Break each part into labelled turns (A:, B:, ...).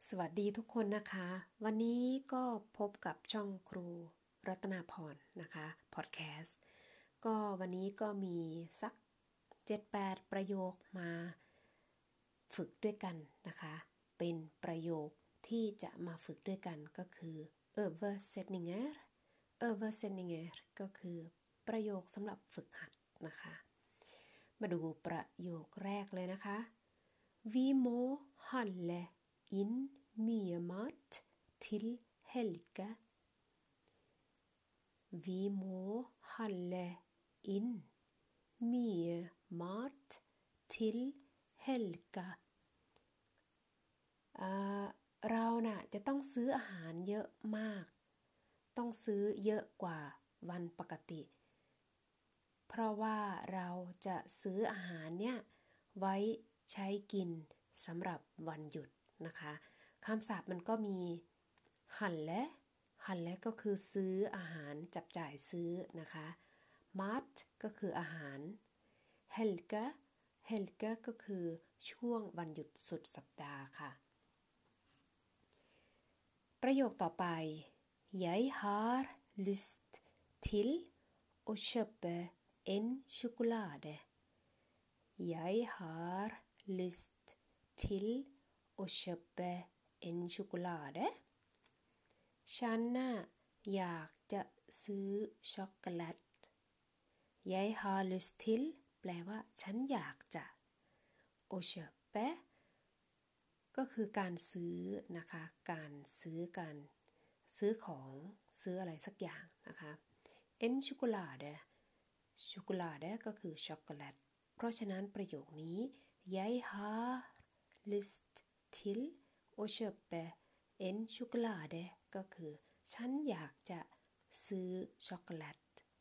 A: สวัสดีทุกคนนะคะวันนี้ก็พบกับช่องครูรัตนาพรนะคะพอดแคสต์ก็วันนี้ก็มีสัก 7-8 ประโยคมาฝึกด้วยกันนะคะเป็นประโยคที่จะมาฝึกด้วยกันก็คือ översättningar ก็คือประโยคสำหรับฝึกหัดนะคะมาดูประโยคแรกเลยนะคะ Vi må handle inn mye mat til helga. Vi må handle inn mye mat til helga. เราน่ะจะต้องซื้ออาหารเยอะมากต้องซื้อเยอะกว่าวันปกติเพราะว่าเราจะซื้ออาหารเนี่ยไว้ใช้กินสำหรับวันหยุดนะคะคำศัพท์มันก็มีหันและก็คือซื้ออาหารจับจ่ายซื้อนะคะ mat ก็คืออาหาร helga ก็คือช่วงวันหยุดสุดสัปดาห์ค่ะประโยคต่อไป Jeg har lyst til å kjøpe en sjokolade. Jeg har lyst til å kjøpe en sjokolade. ฉันน่ะอยากจะซื้อช็อกโกแลต Jeg har lyst til แปลว่าฉันอยากจะ å kjøpe ก็คือการซื้อนะคะการซื้อของซื้ออะไรสักอย่างนะคะ en chocolade ก็คือช็อกโกแลตเพราะฉะนั้นประโยคนี้ Jeg har lyst til å kjøpe en chocolade ก็คือฉันอยากจะซื้อช็อกโกแลต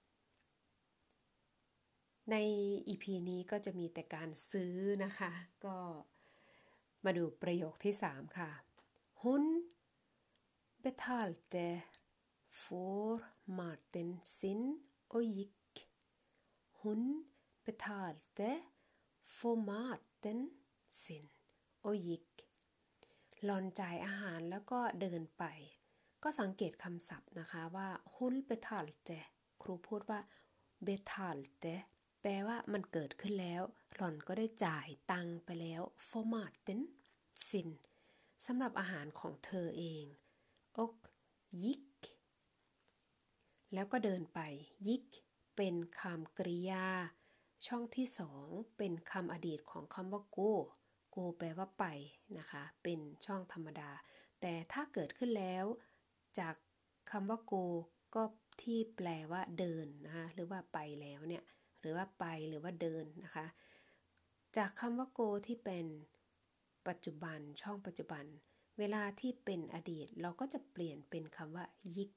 A: ใน EP นี้ก็จะมีแต่การซื้อนะคะก็มาดูประโยคที่3ค่ะ Hun betalte for maten sin og gikk. Hun betalte for maten sin og gikk. หล่อนจ่ายอาหารแล้วก็เดินไปก็สังเกตคำศัพท์นะคะว่า Hun betalte ครูพูดว่า betalte แปลว่ามันเกิดขึ้นแล้วหล่อนก็ได้จ่ายตังไปแล้ว for maten sin สำหรับอาหารของเธอเองoch gick แล้วก็เดินไป gick เป็นคำกริยาช่องที่2เป็นคำอดีตของคำว่า go แปลว่าไปนะคะเป็นช่องธรรมดาแต่ถ้าเกิดขึ้นแล้วจากคำว่า go ก็ที่แปลว่าเดินนะคะหรือว่าไปแล้วเนี่ยหรือว่าไปหรือว่าเดินนะคะจากคำว่า go ที่เป็นปัจจุบันช่องปัจจุบันเวลาที่เป็นอดีตเราก็จะเปลี่ยนเป็นคำว่า gick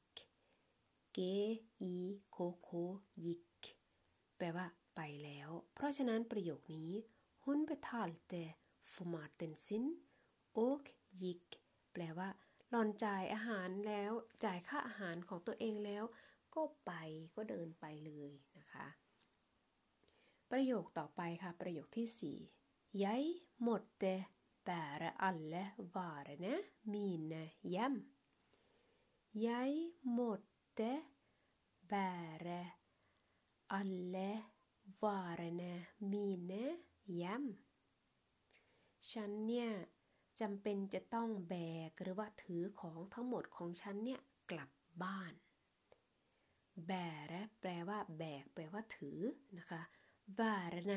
A: gick แปลว่าไปแล้วเพราะฉะนั้นประโยคนี้ Hun betalte for maten sin och gick แปลว่าหล่อนจ่ายอาหารแล้วจ่ายค่าอาหารของตัวเองแล้วก็ไปก็เดินไปเลยนะคะประโยคต่อไปค่ะประโยคที่4 Jeg måtte bære alle varene mine hjem. Jeg måtte bære alle varene mine hjem. ฉันเนี่ยจำเป็นจะต้องแบกหรือว่าถือของทั้งหมดของฉันเนี่ยกลับบ้านแบกแปลว่าแบกแปลว่าถือนะคะvarene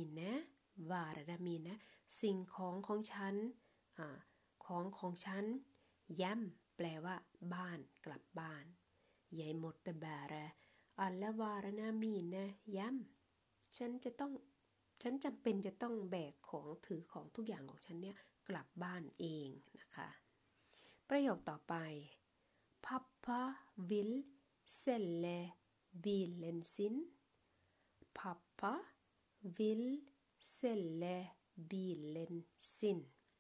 A: mine สิ่งของฉันของฉันย้ำแปลว่าบ้านกลับบ้าน Jeg måtte bære alle varene mine hjem ฉันจำเป็นจะต้องแบกของถือของทุกอย่างของฉันเนี่ยกลับบ้านเองนะคะประโยคต่อไป Pappa vill sälja bilen sin Pappa vill sälja bilen sin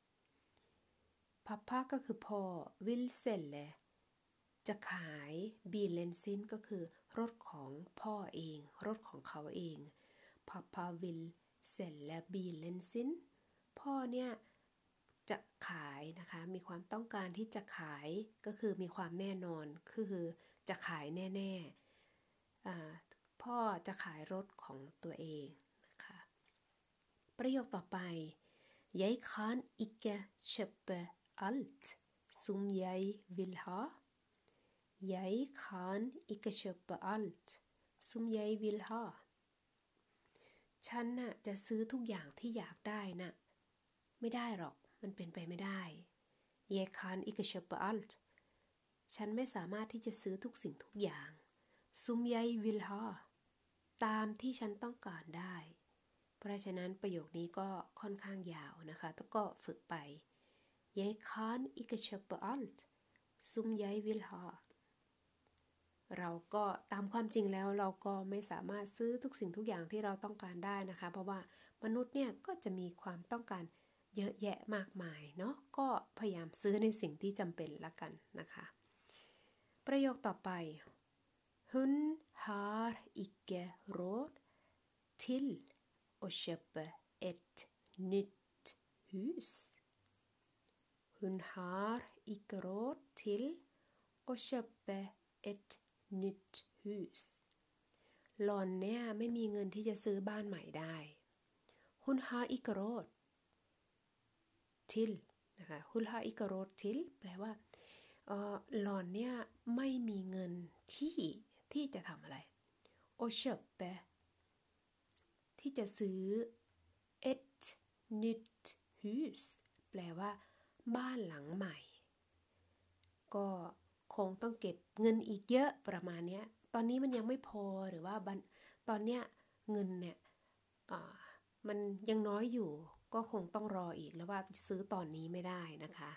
A: Pappa ก็คือพ่อ vill sälja จะขาย bilen sin ก็คือรถของพ่อเองรถของเขาเอง Pappa vill sälja bilen sin พ่อเนี่ยจะขายนะคะมีความต้องการที่จะขายก็คือมีความแน่นอนคือจะขายแน่ๆพ่อจะขายรถของตัวเองนะคะประโยคต่อไป Jeg kan ikke kjøpe alt som jeg vil ha. Jeg kan ikke kjøpe alt som jeg vil ha. ฉันน่ะจะซื้อทุกอย่างที่อยากได้น่ะไม่ได้หรอกมันเป็นไปไม่ได้ Jeg kan ikke kjøpe alt ฉันไม่สามารถที่จะซื้อทุกสิ่งทุกอย่าง som jeg vil ha ตามที่ฉันต้องการได้เพราะฉะนั้นประโยคนี้ก็ค่อนข้างยาวนะคะแล้วก็ฝึกไป Jeg kan ikke kjøpe alt som jeg vil ha เราก็ตามความจริงแล้วเราก็ไม่สามารถซื้อทุกสิ่งทุกอย่างที่เราต้องการได้นะคะเพราะว่ามนุษย์เนี่ยก็จะมีความต้องการเยอะแยะมากมายเนาะก็พยายามซื้อในสิ่งที่จำเป็นละกันนะคะประโยคต่อไป Hun har ikke råd til å kjøpe et nytt hus. Hun har ikke råd til å kjøpe et nytt hus. หล่อนเนี่ยไม่มีเงินที่จะซื้อบ้านใหม่ได้ Hun har ikke råd til นะคะ Hun har ikke råd til แปลว่าหล่อนเนี่ยไม่มีเงินที่จะทำอะไร å kjøpe ที่จะซื้อ et nytt hus แปลว่าบ้านหลังใหม่ก็คงต้องเก็บเงินอีกเยอะประมาณนี้ตอนนี้มันยังไม่พอหรือว่าตอนเนี้ยเงินเนี่ยมันยังน้อยอยู่ก็คงต้องรออีกแล้วว่าซื้อตอนนี้ไม่ได้นะคะ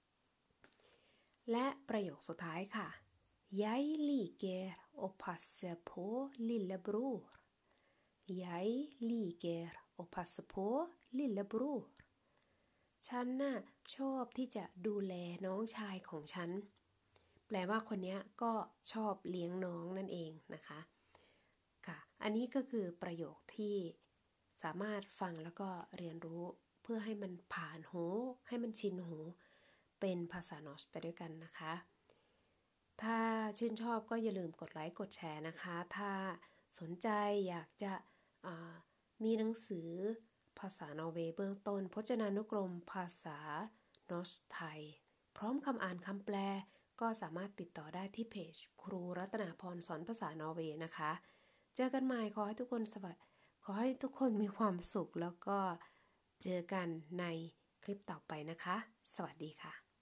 A: และประโยคสุดท้ายค่ะ Jeg liker å passe på lillebror. Jeg liker å passe på lillebror. ฉันน่ะชอบที่จะดูแลน้องชายของฉันแปลว่าคนนี้ก็ชอบเลี้ยงน้องนั่นเองนะคะค่ะอันนี้ก็คือประโยคที่สามารถฟังแล้วก็เรียนรู้เพื่อให้มันผ่านหูให้มันชินหูเป็นภาษานอชไปด้วยกันนะคะถ้าชื่นชอบก็อย่าลืมกดไลค์กดแชร์นะคะถ้าสนใจอยากจะมีหนังสือภาษานอร์เวย์เบื้องต้นพจนานุกรมภาษานอชไทยพร้อมคำอ่านคำแปลก็สามารถติดต่อได้ที่เพจครูรัตนาพรสอนภาษานอร์เวย์นะคะเจอกันใหม่ขอให้ทุกคนมีความสุขแล้วก็เจอกันในคลิปต่อไปนะคะสวัสดีค่ะ